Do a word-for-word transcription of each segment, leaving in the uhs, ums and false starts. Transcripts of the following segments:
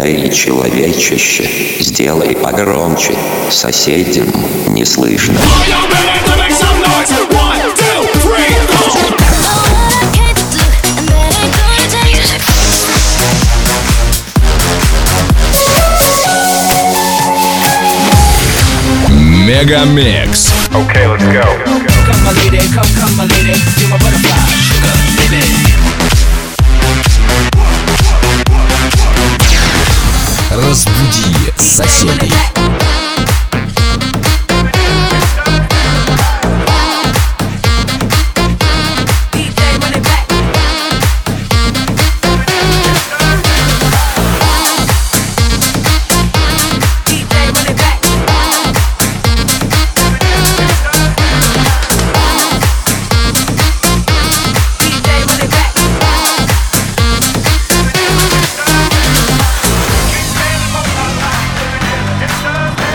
Эй, человечище, сделай погромче, соседям не слышно. Мегамикс. Okay, let's go. Come my lady, come, come my lady, you're my butterfly, sugar, baby. Разбуди соседей. It's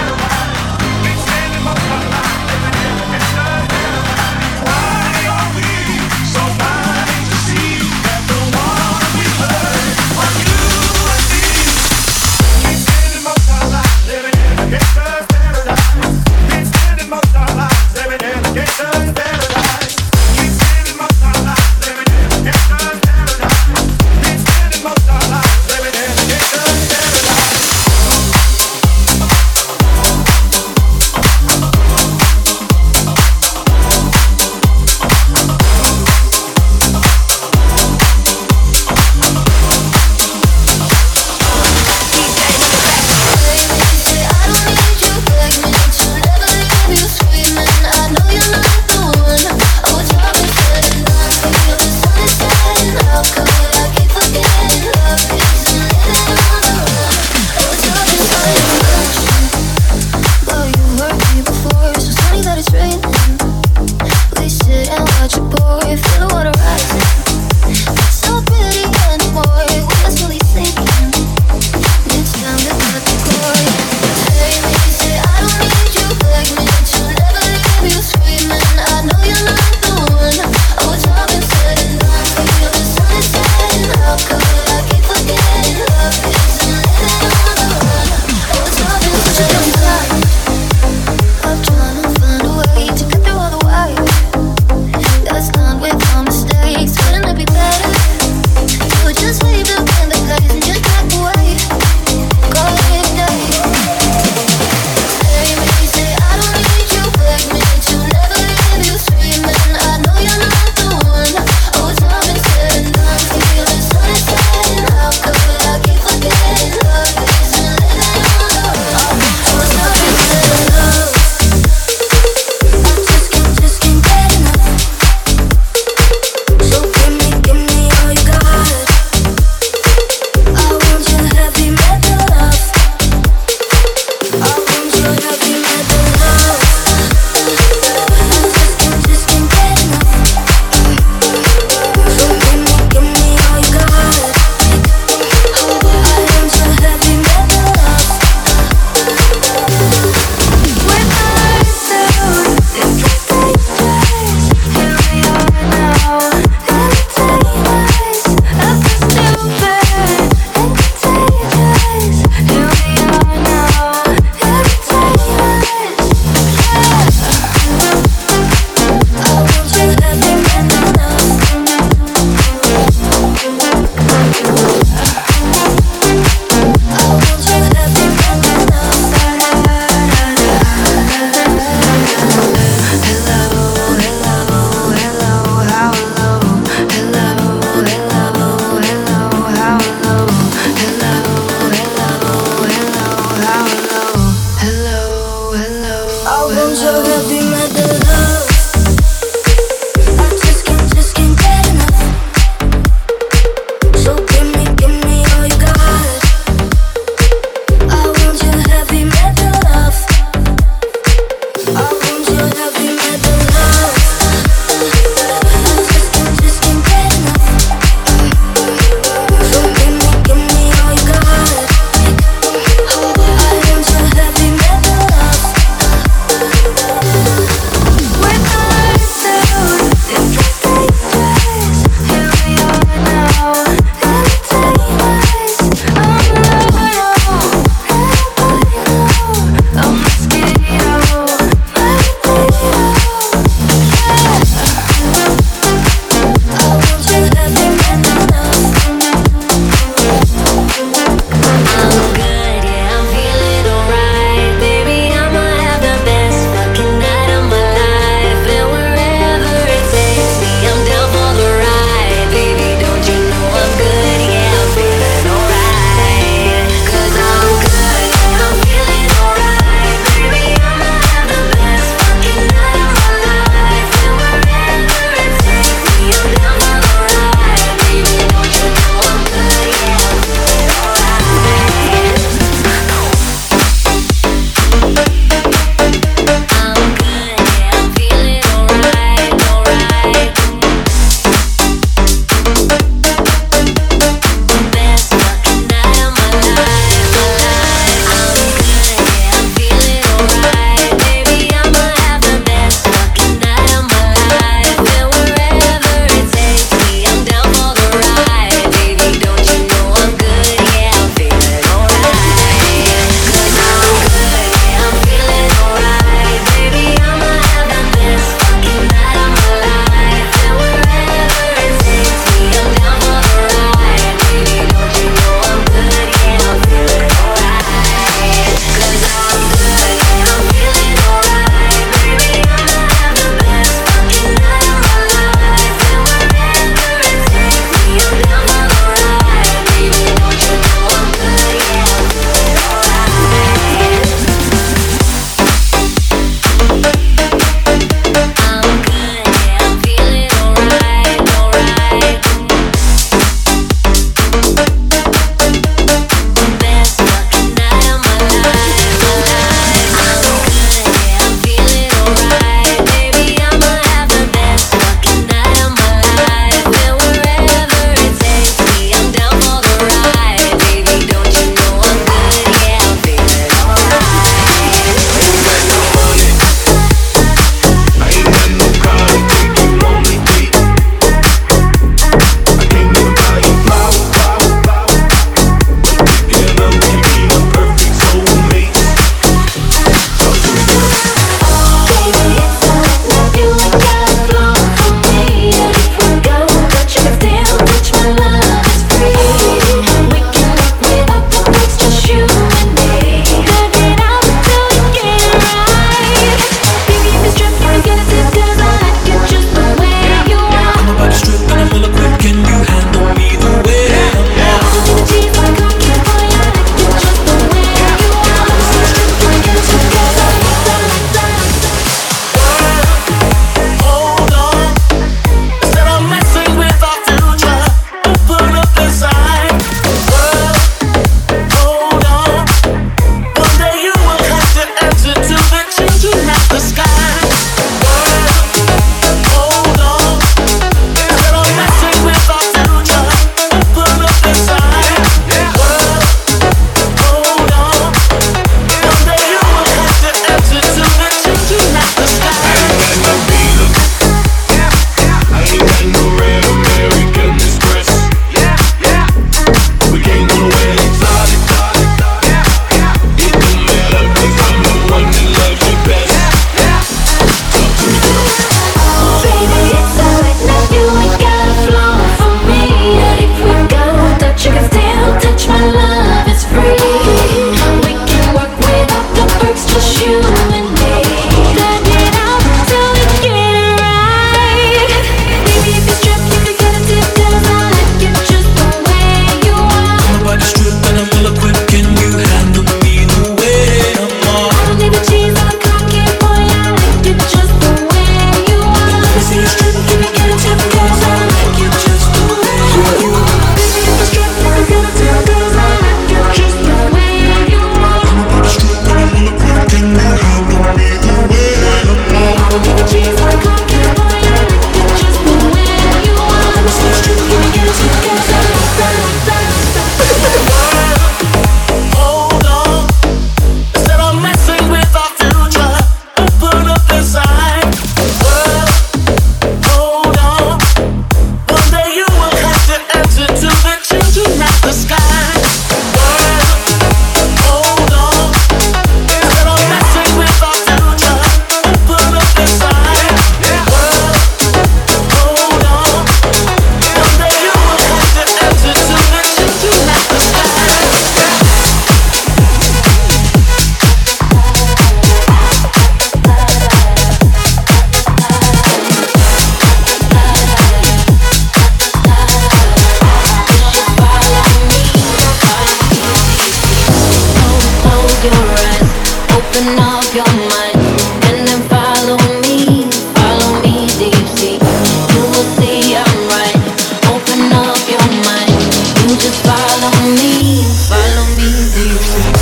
Open up your mind and then follow me, follow me deep sea. You will see I'm right. Open up your mind, you just follow me, follow me deep sea.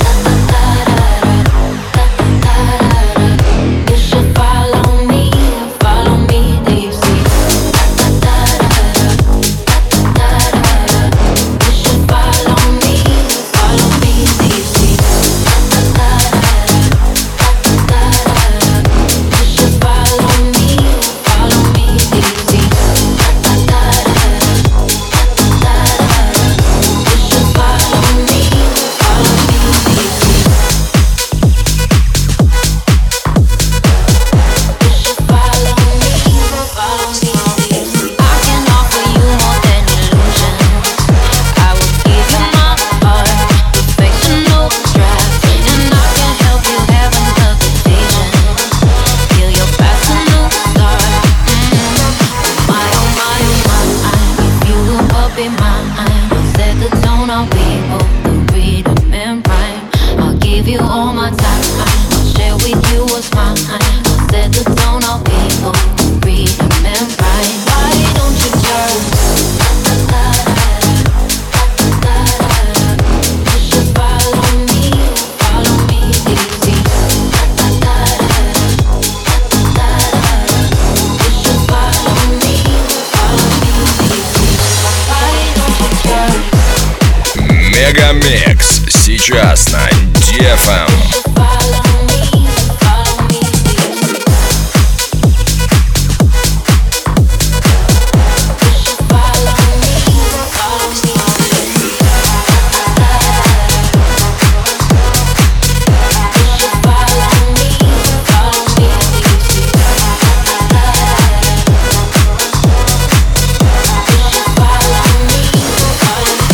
You should follow me, follow me deep sea. You should follow me, follow me deep sea. You should follow me, follow me deep sea. You should follow me, follow me deep sea. You should follow me, follow me deep sea. I can offer you more than illusions. I will give you my heart, perfectional draft, and I can help you have another vision. Feel your past a new start. My oh my oh my, if you look up in mine, I'll set the tone. I'll be both the rhythm and rhyme. I'll give you all my time. I'll share with you what's mine. I'll set the tone. I'll be both the rhythm and rhyme. Why don't you just you should follow me, follow me deep sea. You should follow me, follow me deep sea. Why don't you just Мегамикс сейчас на ди эф эм. follow me, follow me deep sea. You should follow me, follow me deep sea. You should follow me, follow me deep sea. You should follow me, follow me.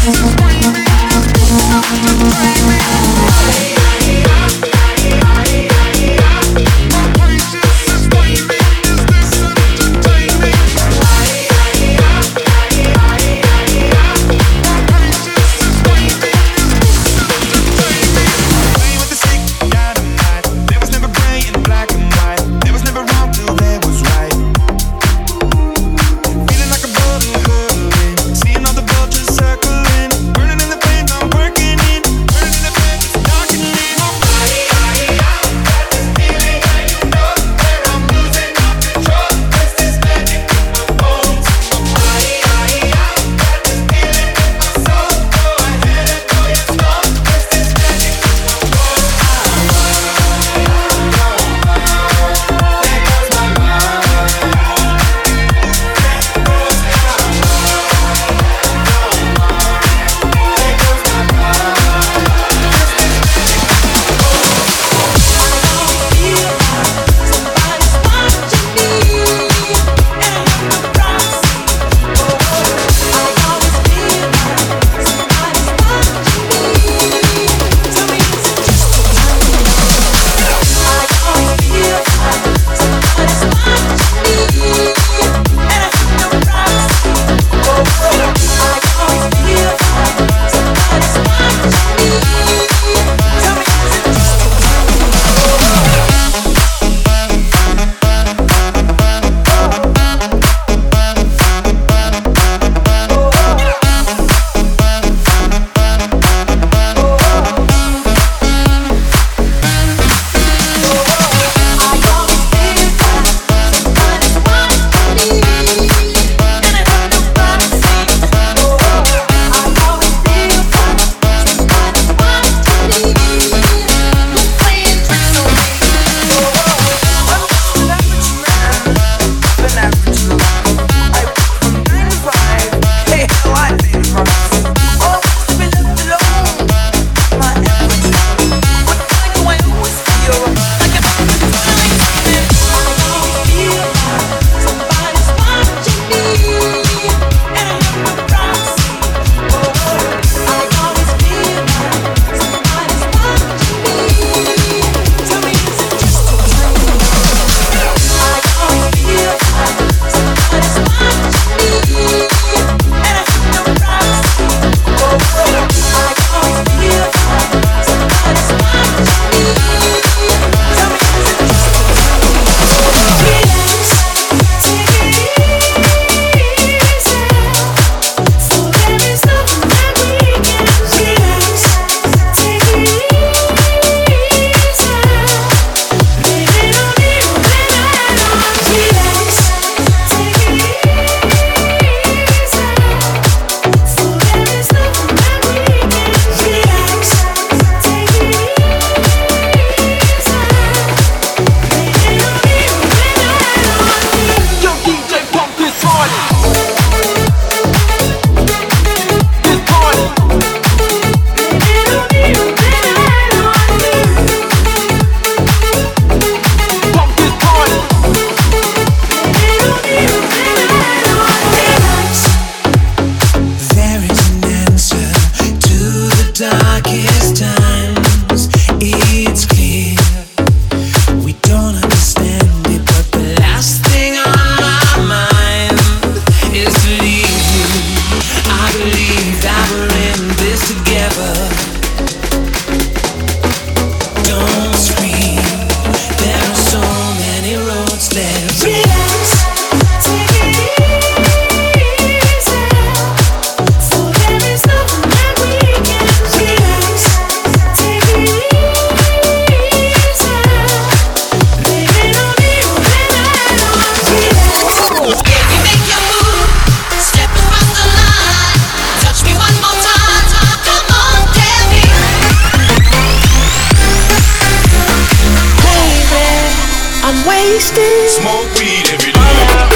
Smoke weed every day.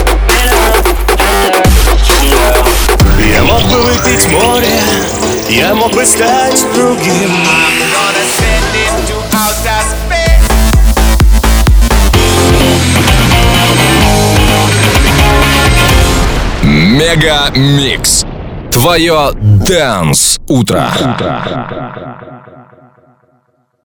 Я мог бы выпить море, я мог бы стать другим. I'm gonna send it to outer space. Мега Микс. Твое Dance утро.